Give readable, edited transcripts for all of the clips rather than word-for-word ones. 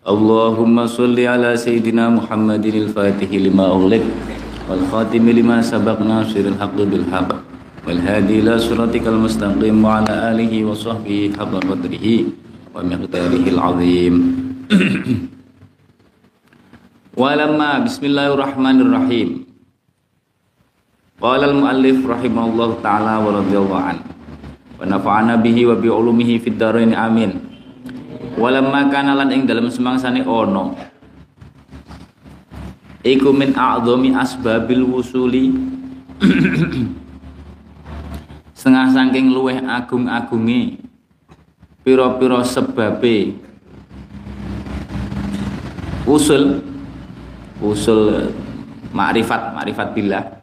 Allahumma sholli ala sayyidina Muhammadin al-Fatihi lima ughliq wal khatimi lima sabaq nasiril haqqi bil haqq wal hadi ila siratikal mustaqim wa ala alihi wa sahbihi haqqa qadrihi wa miqdarihi al-azim. Walamma bismillahirrahmanirrahim. Qala al-muallif rahimahullahu ta'ala wa radhiyallahu an wa nafa'ana bihi wa bi ulumihi fid dharain amin. Walamma kana lan ing dalem semangsane ono iku min a'dhami asbabil wusuli setengah saking luweh agung-agunge pira-pira sebabe usul makrifat billah.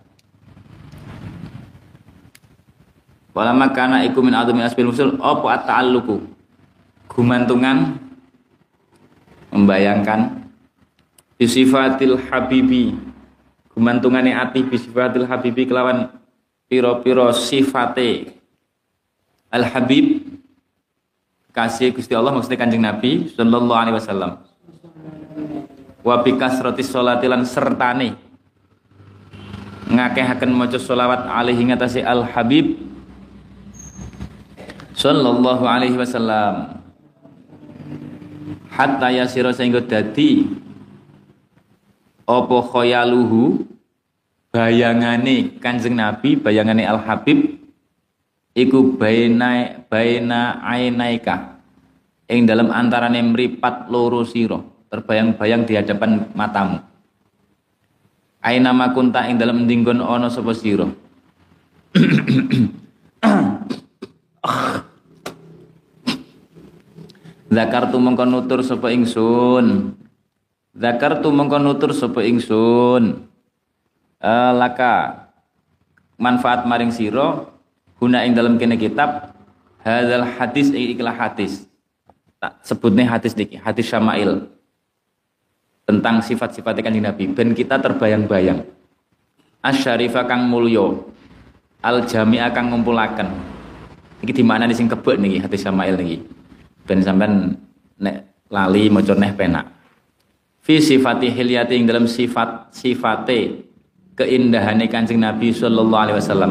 Walamma kana iku min a'dhami asbabil usul apa at-ta'alluqu gumantungan, membayangkan bisifatil habibi, gumantungane ati bisifatil habibi kelawan piro-piro sifate al habib kasih Gusti Allah, maksudnya Kanjeng Nabi sallallahu alaihi wasallam. Wa bi kasratis sholati lan sertane ngakehaken maca sholawat alaihi ngatasi al habib sallallahu alaihi wasallam. Hatta yasira sehingga dadi apa khayaluhu bayangane Kanjeng Nabi, bayangane Al Habib iku baina ainaika ing dalam antarane mripat loro sira, terbayang-bayang di hadapan matamu. Aina makunta ing dalam ndinggon ana sapa sira. Zakartu mongko nutur sapa ingsun. Laka manfaat maring sira guna ing dalam kene kitab hadzal hadis ikhlas hadis. Tak sebutne hadis niki, hadis Syama'il. Tentang sifat-sifat Kanjeng Nabi ben kita terbayang-bayang. Asy-syarifah kang mulya, al-jami'ah kang ngumpulaken. Iki di mana sing kebek niki hadis Syama'il niki. Ben sampean nek lali maca neh penak. Fi sifati hilyati ing dalam sifate keindahane Kanjeng Nabi sallallahu alaihi wasallam.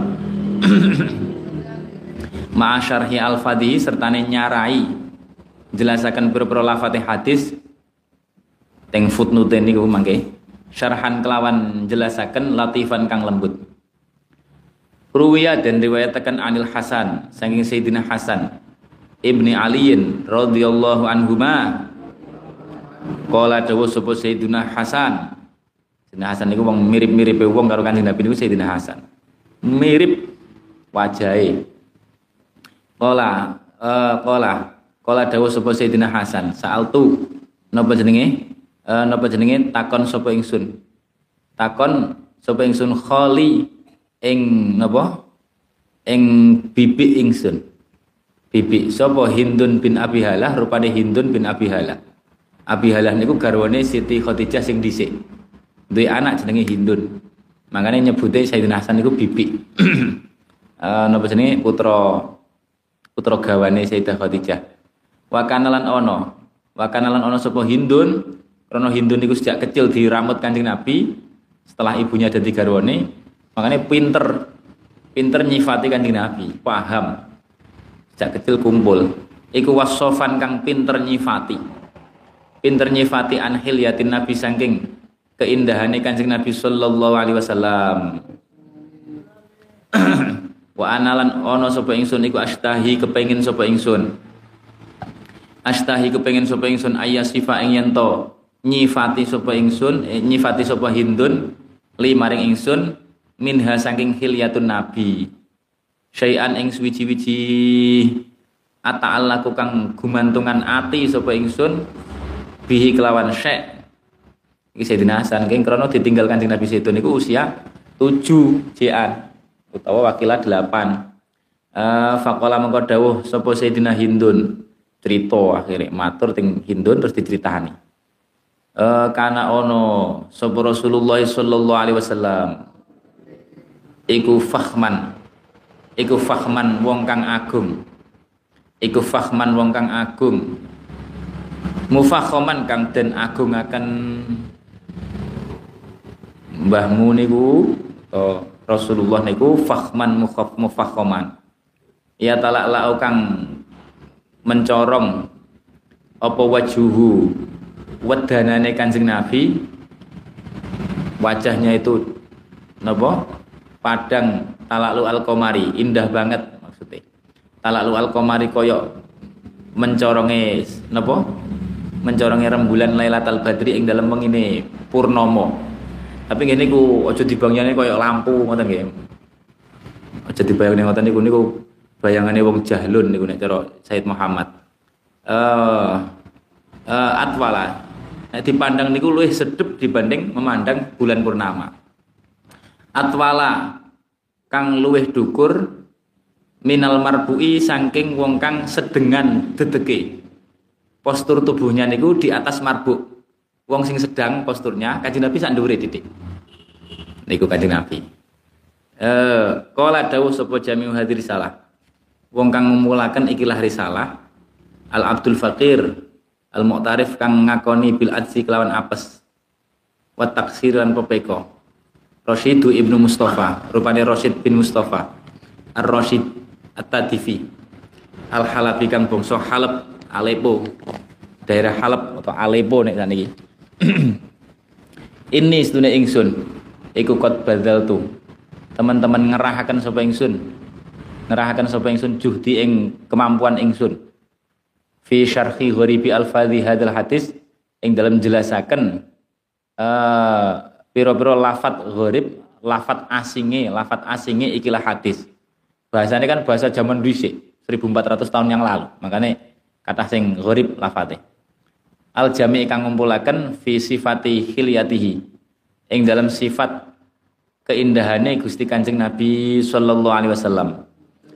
Ma'a syarhi al-fadhi sertane nyarai jelasaken pira-pira lafate hadis teng footnote niku mangke syarhan kelawan jelasaken latifan kang lembut. Ruwiya dan riwayataken Anil Hasan saking Sayyidina Hasan Ibni Aliin radhiyallahu anhuma qala dawu sapa Sayyidina Hasan. Sayyidina Hasan niku wong mirip-miripe wong karo Kanjeng Nabi niku Sayyidina Hasan. Mirip wajahe. Qala dawu sapa Sayyidina Hasan, sa'altu napa jenenge? Takon sapa ingsun. Takon sapa ingsun khali ing napa? Ing bibi ingsun. Bibi sapa Hindun bin Abi Halah, rupane Hindun bin Abi Halah. Abi Halah niku garwane Siti Khadijah sing dhisik. Duwe anak jenenge Hindun. Makane nyebute Sayyidina Hasan niku bibi. Napa jenenge putra gawane Sayyidah Khadijah. Wa kanalan ono sapa Hindun, krana Hindun niku sejak kecil diramut Kanjeng Nabi setelah ibunya dadi garwane. Makane pinter nyifati Kanjeng Nabi, paham. Sejak kecil kumpul iku wasofan kang pinter nyifati an hilyatin Nabi saking keindahane Kanjeng Nabi sallallahu alaihi wasallam. Wa analan ono sapa ingsun iku astahi kepengin sapa ingsun ayasifa ing yen nyifati sapa Hindun li maring ingsun minha saking hilyatun Nabi syai'an ing suwi-wiji ata'allaku kang gumantungan ati sapa ingsun bihi kelawan syai'. Iki Sayyidina Hasan keng krana ditinggal Kanjeng Nabi sedo niku usia 7 jean utawa wakila 8. Faqala mengko dawuh sapa Sayyidina Hindun, cerita akhire matur teng Hindun terus diceritani. Kana ono sapa Rasulullah sallallahu alaihi wasallam iku fahman wong kang agung Mufakhoman kang den agungaken mbahmu niku Rasulullah niku fakhman mufakhoman. Ya talak kang mencorong apa wajuhu wedanane Kanjeng Nabi, wajahnya itu napa padang talalu al-qamari, indah banget maksudnya. Talalu al-qamari koyok mencoronge napa? Mencoronge rembulan Lailatul Badri ing dalem wengine purnomo. Tapi ngene iku aja dibangyane koyok lampu ngoten nggih. Aja dibayangane ngoten niku bayangane wong jahlun niku nek cara Said Muhammad. Atwala. Nek dipandang niku luwih sedep dibanding memandang bulan purnama. Atwala kang luwih dukur minal marbu'i saking wong kang sedengan dedeke. Postur tubuhnya niku di atas marbuk. Wong sing sedang posturnya Kanjeng Nabi sak ndhuwure titik. Niku Kanjeng Nabi. Qala dawuh sapa Jami'u Hadhihi Risalah. Wong kang ngumulaken ikilah risalah Al Abdul Faqir Al Mu'tarif kang ngakoni bil adzi kelawan apes. Wa taksir lan pepeko. Rasyidu Ibnu Mustafa, rupane Rasyid bin Mustafa. Ar-Rasyid At-Tadifi. Al-Halabi kang bangsa Halab, Aleppo. Daerah Halab atau Aleppo nek saniki. Ini sedune ingsun iku qad badzaltu. Teman-teman ngerahaken sapa ingsun. Ngerahaken sapa ingsun juhdi ing kemampuan ingsun. Fi syarhi gharibi al-fadhi hadzal hadis ing dalam jelasaken pira-pira lafat gharib, lafat asinge ikilah hadis. Bahasanya kan bahasa zaman dhisik, 1400 tahun yang lalu. Makanya kata sing gharib lafate. Al jami' kang ngumpulaken fi sifati hilyatihi. Ing dalam sifat keindahane Gusti Kanjeng Nabi sallallahu alaihi wasallam.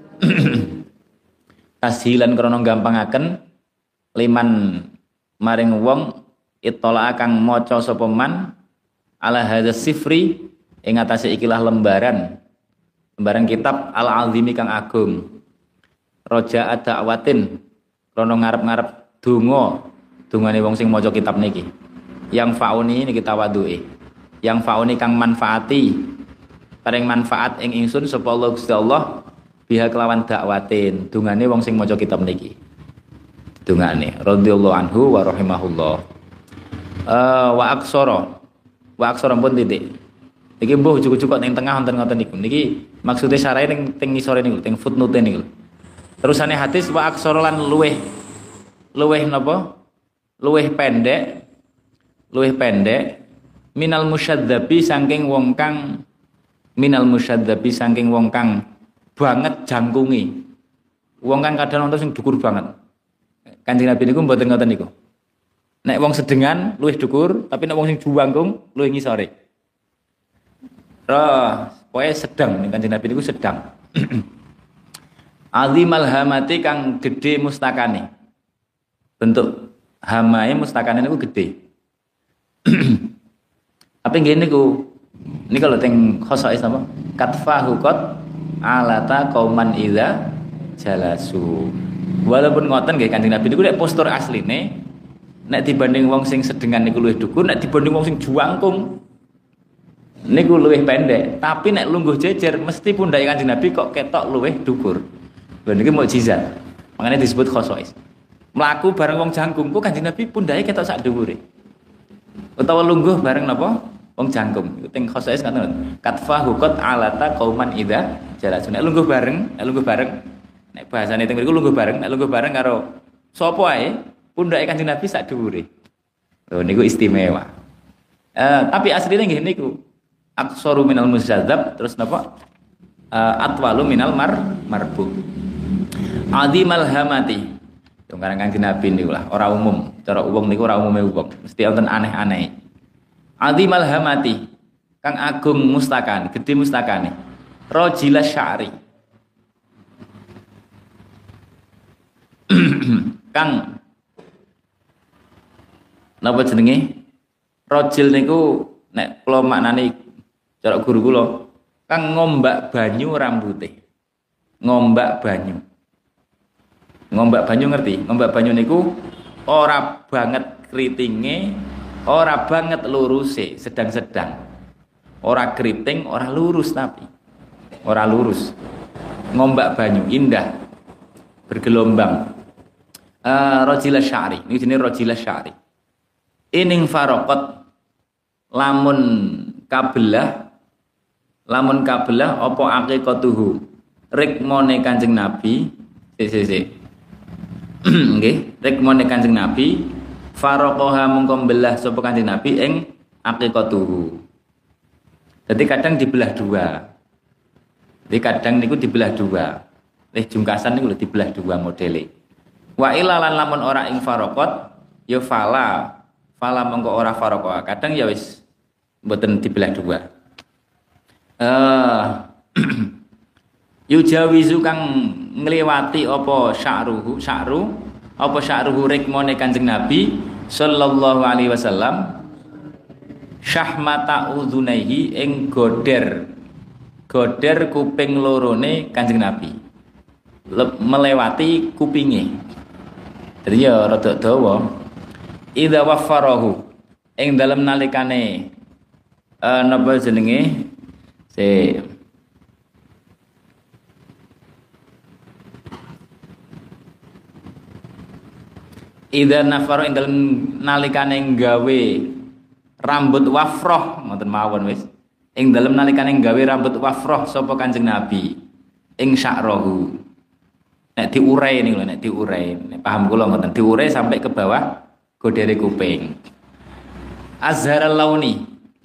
Tashilan krana gampangaken liman maring wong ittala kang maca sapa man ala hadzal sifri ing atase ikilah lembaran kitab al-azimi kang agung. Raja da'watin krana ngarep-ngarep dongane wong sing maca kitab niki. Yang fauni niki tawaduke. Yang fauni kang manfaati paring manfaat ing ingsun sapa Allah Gusti Allah biha kelawan dakwatin dungane wong sing maca kitab niki. Dungane radhiyallahu anhu wa rahimahullah. Wa aksara pun titik. Niki mbuh cukup ning tengah wonten ngoten niku. Niki maksude syarahe ning ngisore niku, ning footnote niku. Terusane hadis wa aksara lan luweh napa? Luweh pendek minal musyadzabi saking wong kang banget jangkungi. Wong kang kadang nonton sing dhukur banget. Kanjeng Nabi niku mboten ngoten niku. Nek wong sedengan luwih dhukur, tapi nek wong sing juwangkung luwih ngisore. Pokoke sedang ning Kanjeng Nabi niku sedang. Azimal hamati kang gedhe mustakane. Bentuk hamae mustakane niku gedhe. Apa ngene niku? Ini kalau teng khosais apa? Katfahu qad alata qauman idza jalasu. Walaupun ngoten nggih Kanjeng Nabi niku nek postur asline nek dibanding wong sing sedengan niku luwih dhukur, nek dibanding wong sing juangkung niku luwih pendek. Tapi nek lungguh jejer mesti pundhake Kanjeng Nabi kok ketok luwih dhukur. Lha niki mukjizat. Makanya disebut khosais. Mlaku bareng wong jangkung ku Kanjeng Nabi pundhake ketok sak dhuwure. Utawa lungguh bareng napa? Wong jangkung. Iku teng khosais ngoten. Katfa hukot alata qauman idza jalasun. Nek lungguh bareng, nek bahasane teng mriku lungguh bareng karo sapa ae pundhake Kanjeng Nabi sak dhuwure. Lho niku istimewa. Tapi asline nggih niku aksaru minal musyadzab terus napa? Atwalu minal marbu. Azimal hamati. Yang karang Kanjeng Nabi niku lah, ora umum. Cara wong niku ora umume wong. Mesti wonten aneh-aneh. Azimal hamati kang agung mustakan, gedhe mustakane. Rajila sya'ri. Kang napa jenenge? Rajil niku nek kula maknane cara guru kula, kang ngombak banyu rambute. Ngombak banyu ngerti? Ngombak banyu niku ora banget kritinge, ora banget luruse, sedang-sedang. Ora kriting, ora lurus tapi. Ora lurus. Ngombak banyu indah. Bergelombang. Rajila sya'ri. Ini jenis rajila sya'ri. Ining farokot lamun kabelah apa aqiqatuhu rikmone Kanjeng Nabi nggih rikmone Kanjeng Nabi faraqaha mungko belah sapa Kanjeng Nabi ing aqiqatuhu. Jadi kadang dibelah dua. Jadi kadang niku dibelah dua. Jungkasan niku lho dibelah dua modele. Wa ilalan lamun ora ing faraqat ya fala mongko ora faraqah. Kadang ya wis mboten dibelah dua. Yujawizu kang ngliwati apa sya'ruhu rikmone Kanjeng Nabi sallallahu alaihi wasallam syahmata udhunaihi ing goder kuping lorone Kanjeng Nabi melewati kupinge. Jadi ya rada dawa idza waffarahu ing dalem nalikane napa jenenge Idza nafaro ing dalem nalikane gawe rambut wafroh ngoten mawon wis. Ing dalem nalikane gawe rambut wafroh sapa Kanjeng Nabi ing sya'rahu. Nek diurai niku lho, nek diurai. Nek paham kula ngoten, diurai sampai ke bawah godere kuping. Azharul launi.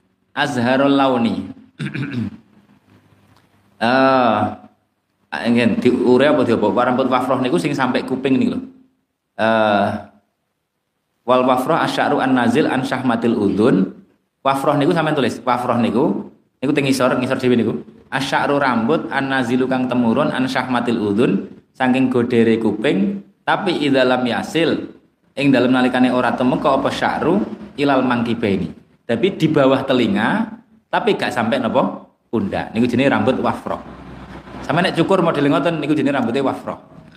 Ingin diurai apa diapa? Rambut wafroh niku sing sampai kuping niku lho. Wal wafroh asy'aru an nazil an syahmatil udhun. Wafroh niku sampean tulis. Wafroh niku teng ngisor dhewe niku. Asy'aru rambut an nazilu kang temurun an syahmatil udhun saking godere kuping, tapi idza lam yasil ing dalem nalikane ora temeka apa sya'ru ilal mangkibaini. Tapi di bawah telinga tapi gak sampai napa pundak. Niku jenenge rambut wafroh. Sampe nek cukur model ngoten niku jenenge rambute wafroh.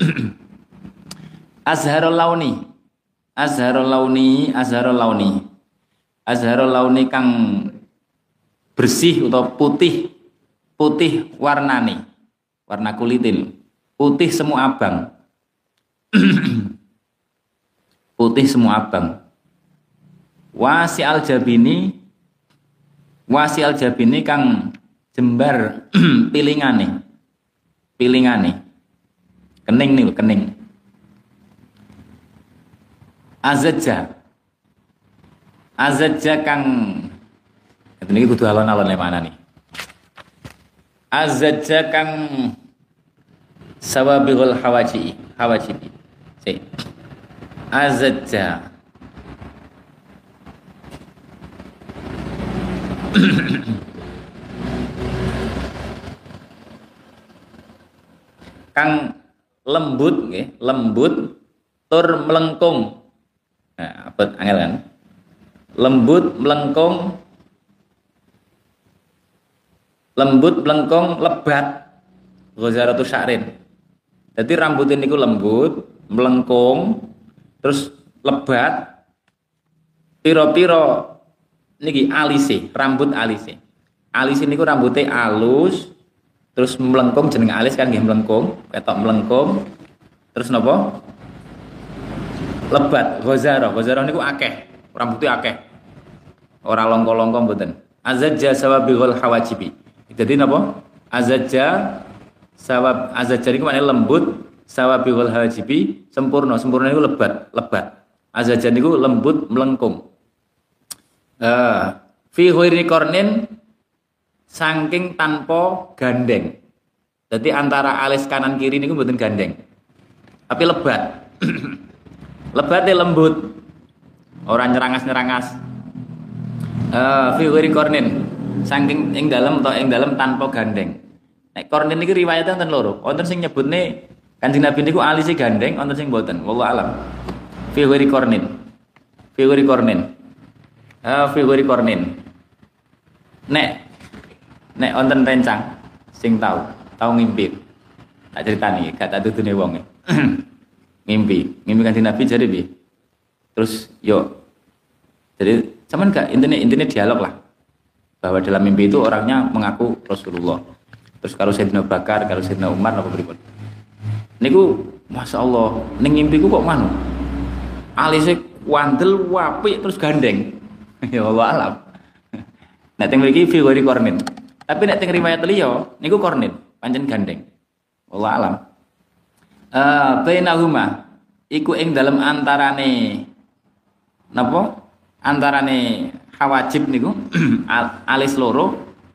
Azharul launi kang bersih atau putih warnane, warna kulitin, putih semu abang. Putih semu abang. Wasi al jabini kang jembar pilingane. Kening nih, kening. Azajja kang ini kudu alon-alon le mana nih. Azajja kang sawabihul hawajibi. Azajja kang lembut nggih, lembut tur melengkung. Nah, apa angel kan? Lembut melengkung lebat ghazaratu sya'rin. Jadi rambut ini ku lembut, melengkung, terus lebat. Piro-piro niki alise, rambut alise. Alis niku rambutnya alus, terus melengkung jeneng alis kan nggih melengkung, ketok melengkung. Terus napa? Lebat, ghazarah niku akeh, rambutnya akeh. Ora longko-longko mboten. Azajja sawabihul hawajibi. Jadi napa? Azajja niku maknane lembut, sawabihul hawajibi sempurna niku lebat. Azajja niku lembut melengkung. Fi ghairi qarnin saking tanpa gandeng. Jadi antara alis kanan kiri niku mboten gandeng. Tapi lebat. Lebatnya lembut. Ora nyerangas-nyerangas. Fi ghairi qarnin saking ing dalem tanpa gandeng. Nek qarnin niki riwayate wonten loro. Wonten sing nyebutne Kanjeng Nabi niku alise gandeng, wonten sing mboten. Wallahu alam. Fi ghairi qarnin. Fi ghairi qarnin. Nek wonten rencang sing tau ngimpi. Tak critani, gak tak tutune wong. Ngimpi Kanjeng Nabi jare piye? Terus yo, jadi cuman gak intinya dialog lah, bahwa dalam mimpi itu orangnya mengaku Rasulullah. Terus kalau Sayyidina Bakar, kalau Sayyidina Umar apa pripun. Niku Masya Allah, ning mimpiku kok manu alisnya wandel wapik terus gandeng. Ya Allah alam. Nek teng mriki fi ghairi kornin. Tapi nek teng riwayat liya niku kornin, pancen gandeng. Allah alam. Bainahuma iku ing dalem antarane napa? Antarane hawajib niku alis loro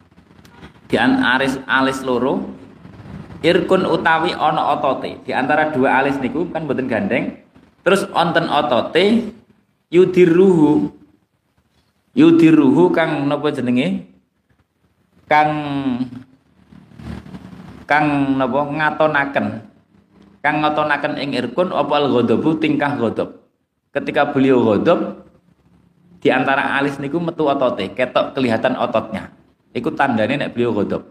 alis loro irkun utawi ana otote. Di antara dua alis niku kan mboten gandeng. Terus onten otote yudiruhu kang napa jenenge? Kang napa ngatonaken. Kang ngatonaken ing irkun apa al-ghadabu tingkah ghadab. Ketika beliau ghadab di antara alis niku metu otote, ketok kelihatan ototnya. Iku tandane nek beliau ghadab.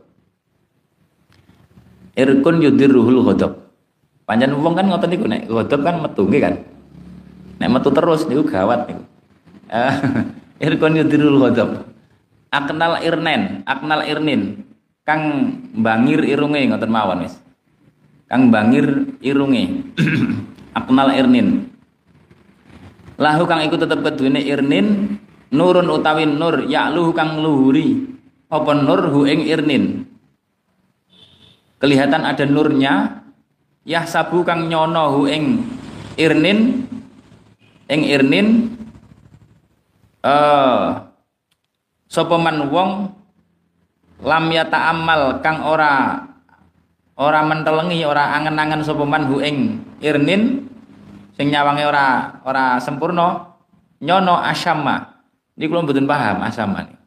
Irkun yudiruhul ghadab. Panjang wong kan ngoten niku nek ghadab kan metu nggih kan. Nek metu terus niku gawat niku. Irkun yudirul ghadab. Aknal irnin kang bangir irunge ngoten mawon wis. Kang bangir irunge. Aknal irnin. Lahu kang iku tetep keduwene irnin nurun utawi nur ya'luhu kang luhuri. Apa nur hu ing irnin. Kelihatan ada nurnya. Yahsabu kang nyono hu ing irnin sapa man wong lam yata'ammal kang ora mentelengi, ora angen-angen sapa man hu ing irnin sing nyawange ora sempurna nyono asamma. Niku kula mboten paham asamma niku.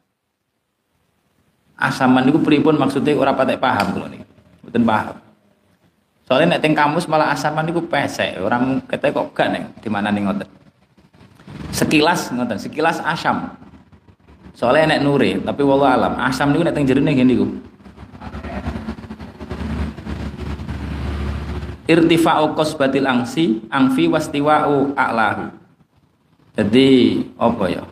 Asamma niku pripun maksude ora patek paham kula niku. Mboten paham. Soalnya nek teng kamus malah asamma niku pesek, orang kete kok gak nek di mana ning ngoten. Sekilas ngoten, sekilas asam. Soalnya nek nure, tapi wallahu alam, asam niku nek teng jerone nggih niku. Irtifa'u qasbatil angfi wastiwa'u a'lahu. Jadi apa ya?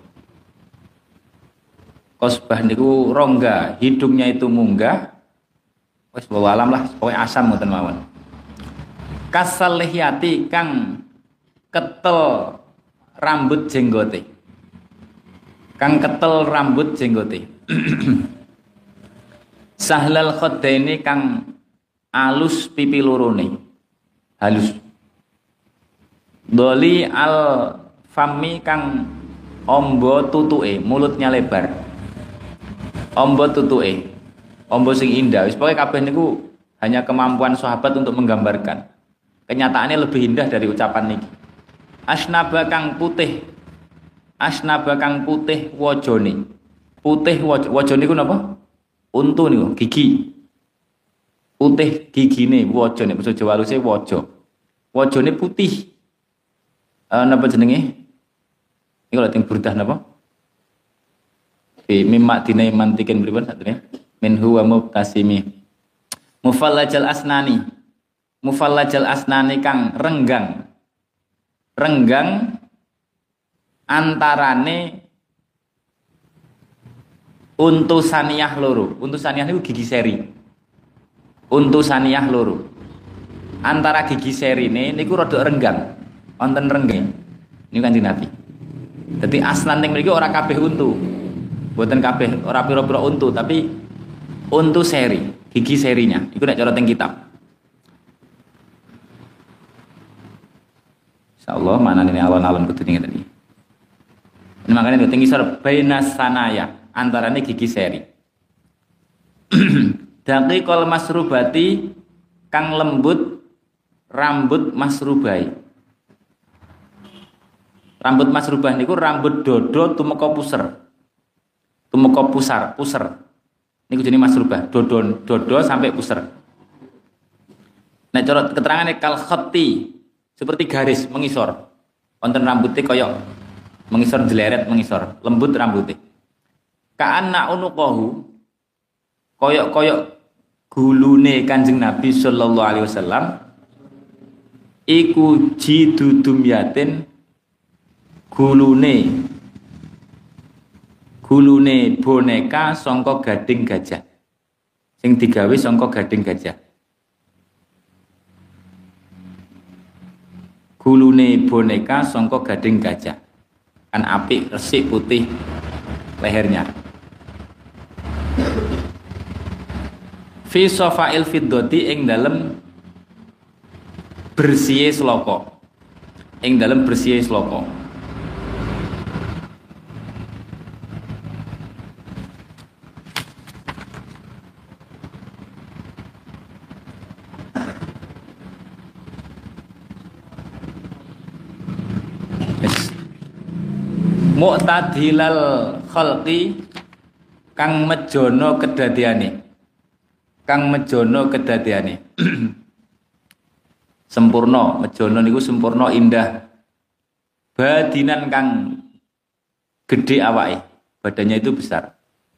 Qasbah niku rongga, hidungnya itu munggah. Wis wallahu alam lah, pokoke asam ngoten mawon. Kasal lihyati kang ketel rambut jenggote. Kang ketel rambut jenggote. Sahlal khaddaini kang alus pipi lorone. Halus. Doli al fami kang ombo tutuke, mulutnya lebar. Ombo tutuke. Ombo sing indah. Wis pokoke kabeh niku hanya kemampuan sahabat untuk menggambarkan. Kenyataannya lebih indah dari ucapan niki. Asnaba kang putih wajone. Putih wajone ku napa? Untu niku, gigi. Putih gigine wajone, basa Jawa haluse waja. Wajone putih. Napa jenenge? Iki lho teng burdah napa? Fi mimma dinai mantikin pripun satune? Minhu wa mubtasimi. Mufallajal asnani kang renggang antarane untu saniyah loro. Untu saniyah niku gigi seri. Untu saniyah loro. Antara gigi serine niku rada renggang. Wonten renggeng. Niku Kanjeng Nabi. Dadi asnan ning mriki ora kabeh untu. Mboten kabeh, ora pira-pira untu, tapi untu seri, gigi serinya. Iku nek cara teng kitab. Insyaallah manane alon-alon kudu tadi. Ini makanya tinggi sor bainas sanaya antarane gigi seri. Daqiqul masrubati kang lembut rambut masrubai. Rambut masrubah niku rambut dodo tumeka puser. Tumeka puser. Niku jenenge masrubah, dodo sampai puser. Nek cara keterangane kal khatti seperti garis mengisor. Wonten rambutnya koyok mengisor jeleret mengisor, lembut rambutnya. Ka'anna unuqahu koyok gulune Kanjeng Nabi sallallahu alaihi wasallam iku jidudum yatin gulune boneka sangka gading gajah sing digawe sangka gading gajah. Gulune boneka sangka gading gajah kan apik, resik, putih lehernya. Fi sofail fiddoti ing dalem bersihe sloka. Ing dalem bersihe sloka. Mu'tadilal khalqi kang mejono kedadiane. Sempurna, mejono niku sempurna indah. Badinan kang gede awake, badannya itu besar.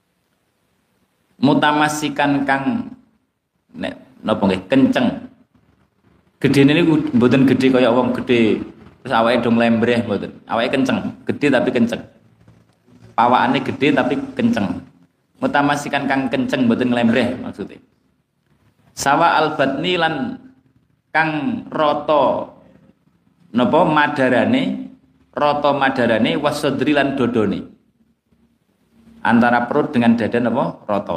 Mutamasikan kang nek napa nggih kenceng. Gedene niku mboten gede kaya wong gede terus awake dong lembreh mboten. Awake kenceng, gede tapi kenceng. Pawakane gede tapi kenceng. Mutamasikan kang kenceng mboten lembreh maksudnya. Sawa albatni lan kang rata napa madarane wasodri lan dodone. Antara perut dengan dada napa rata.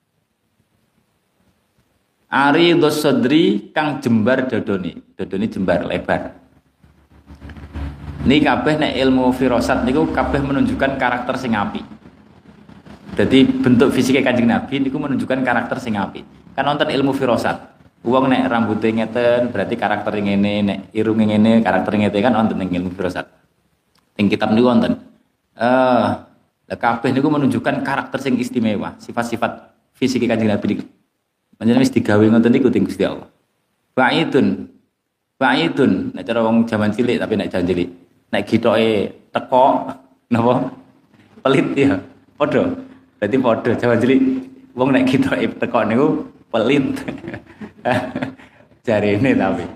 Ari dosodri kang jembar dodone jembar lebar. Ini kabeh nek ilmu firasat niku kabeh menunjukkan karakter sing apik. Jadi bentuk fisiknya Kanjeng Nabi niku menunjukkan karakter sing apik. Kan nonton ilmu firasat. Wong nek rambutnya ngeten berarti karakter ngene, nek irunge ngene karakter ngene kan nonton ning ilmu firasat. Ing kitab niku wonten. Kabeh niku menunjukkan karakter sing istimewa, sifat-sifat fisik Kanjeng Nabi niku. Panjenengan wis digawe ngoten niku dening Gusti Allah. Ba'idun nek cara wong jaman cilik tapi nek jaman cilik nek gitoke teko napa pelit ya padha. Berarti padha jaman cilik wong nek gitoke teko niku pelit. Jarene tapi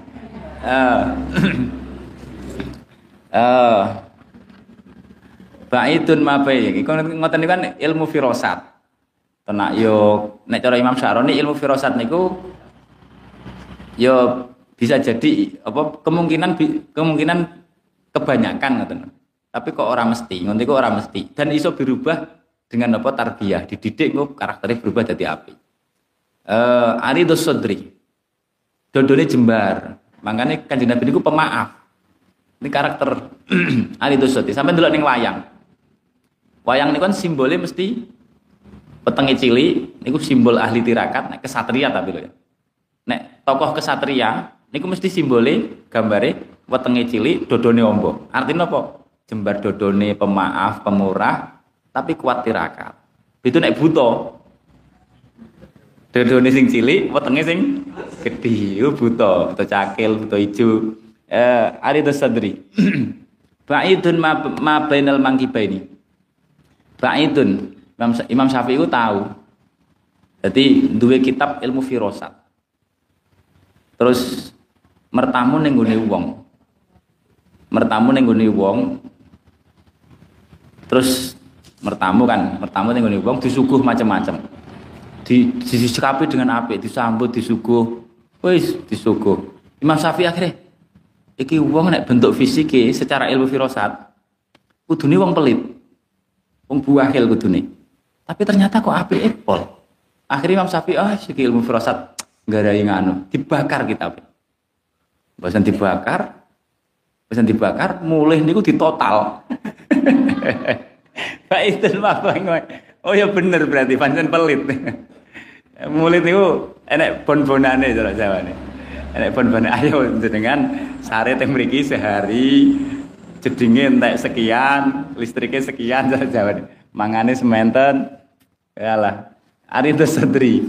Ba'idun mabai iku ngoten niku kan ilmu firasat. Tenak yo nek cara Imam Syaroni ilmu firasat niku yo bisa jadi apa kemungkinan kebanyakan ngoten. Tapi kok ora mesti, ngoten iku ora mesti. Dan iso berubah dengan apa tarbiyah, dididik kok karakternya berubah jadi apik. Aridus sodri. Dodone jembar. Makanya Kanjeng Nabi niku pemaaf. Ini karakter Aridus sodri. Sampai ndelok ning wayang. Wayang niku kan simbolnya mesti petenge cilik niku simbol ahli tirakat, nek kesatria tapi lho ya. Nek tokoh kesatria niku mesti simbole gambare wetenge cilik, dodone ombo. Artinya apa? Jembar dodone pemaaf, pemurah, tapi kuat tirakat. Itu nek buta. Dodone sing cilik, wetenge sing gedhi, iku buta, buta cakil, buta ijo. Aridus sadri. Ba'idun ma bainal mangkibaini. Ba'idun. Imam Syafi'i itu tahu. Jadi duwe kitab ilmu firasat. Terus mertamu ning gone wong. Terus mertamu ning gone wong disuguh macam-macam. Disikapi dengan apik, disambut, disuguh. Wis disuguh. Imam Syafi'i akhirnya iki wong nek bentuk fisike secara ilmu firasat kudune wong pelit. Wong buahil kudune. Tapi ternyata kok apik pol. Akhirnya Imam Syafi'i iki ilmu firasat nggarai nganu, dibakar kitab. Bosan dibakar, mulih niku ditotal. Baikten oh ya bener berarti pancen pelit. Mulih niku enek bon-bonane cara Jawane. Enek bon-bonane ayo jenengan sare teng mriki sehari jedinge entek sekian, listriknya sekian cara Jawane. Mangane sementen. Yalah. Aridus sadri.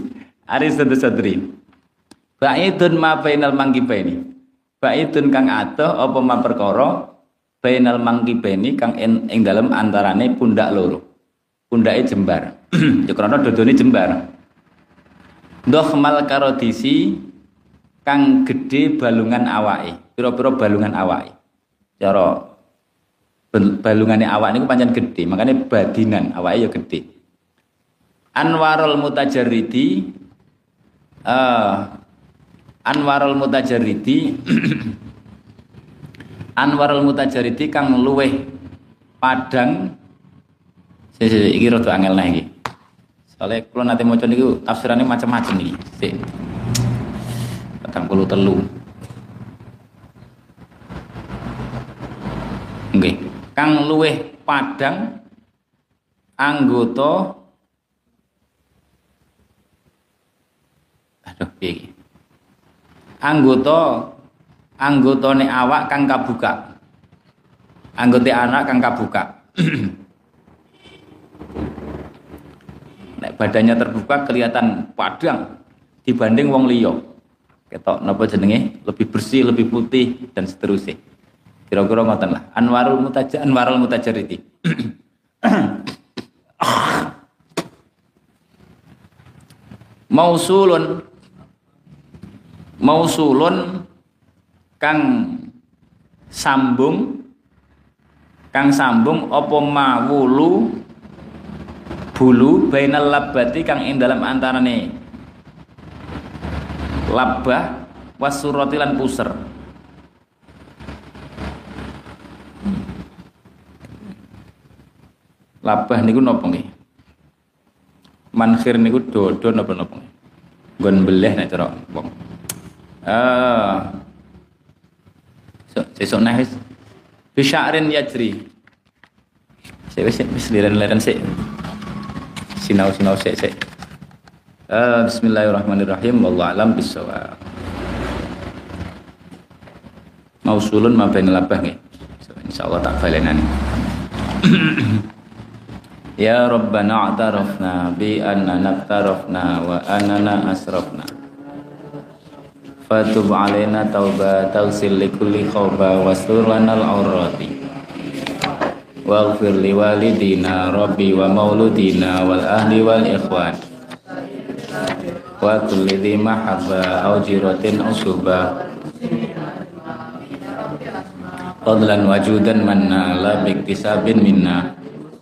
Ba'idun ma bainal mangkibaini. Ba'idun kang adoh apa ma perkara bainal mangkibaini kang ing dalem antarane pundak loro. Pundake jembar. Ya krana dodone jembar. Dohmal karodisi kang gedhe balungan awake. Pira-pira balungan awake. Cara balungane awak niku pancen gedhe, makanya badinan awake ya gedhe. Anwarul mutajarridi Anwarul mutajarridi Anwarul mutajarridi kang luweh padang iki rada angel nah iki. Soale kula nate maca niku tafsirane macam-macam iki. Sik. 43. Nggih. Kang luweh padang anggota piye anggotane awak kang kabuka. Anggote anak kang kabuka. Nek badannya terbuka kelihatan padang dibanding wong liya. Ketok napa jenenge? Lebih bersih, lebih putih dan seterusnya. Kira-kira ngoten lah. Anwarul mutajarridi. Mausulun kang sambung apa mawulu bulu bainal labbati kang ing dalam antarane labbah wasurati lan puser. Labbah niku napa nggih? Mankhir niku dodo napa-napa nggih? Nggon beleh nek cara wong. Sesuk nah wis bisya'rin yajri. Wis liren-liren sik. Sinau sik. Bismillahirrahmanirrahim. Wallahu a'lam bissawab. Mausulun ma bainal labbah nggih. Insyaallah tak balenani. Ya Rabbana a'tarafna bi annana naftarafna wa annana asrafna fatub alaina tauba tawsil likulli khawba wastur lanal aurati waghfir li walidina rabbi wa mauludina wal ahli wal ikhwan wa kulli dhi mahabba aw jiratin usuba fadlan wajudan manna la biktisabin minna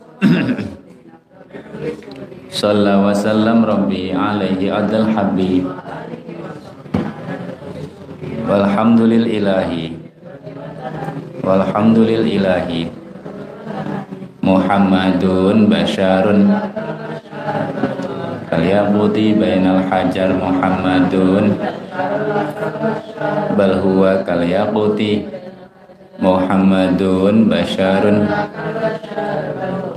sallallahu wa sallam rabbi alaihi adal habib walhamdulillahi Muhammadun basyarun kalyaquti bainal hajar Muhammadun bal huwa kalyaquti Muhammadun basyarun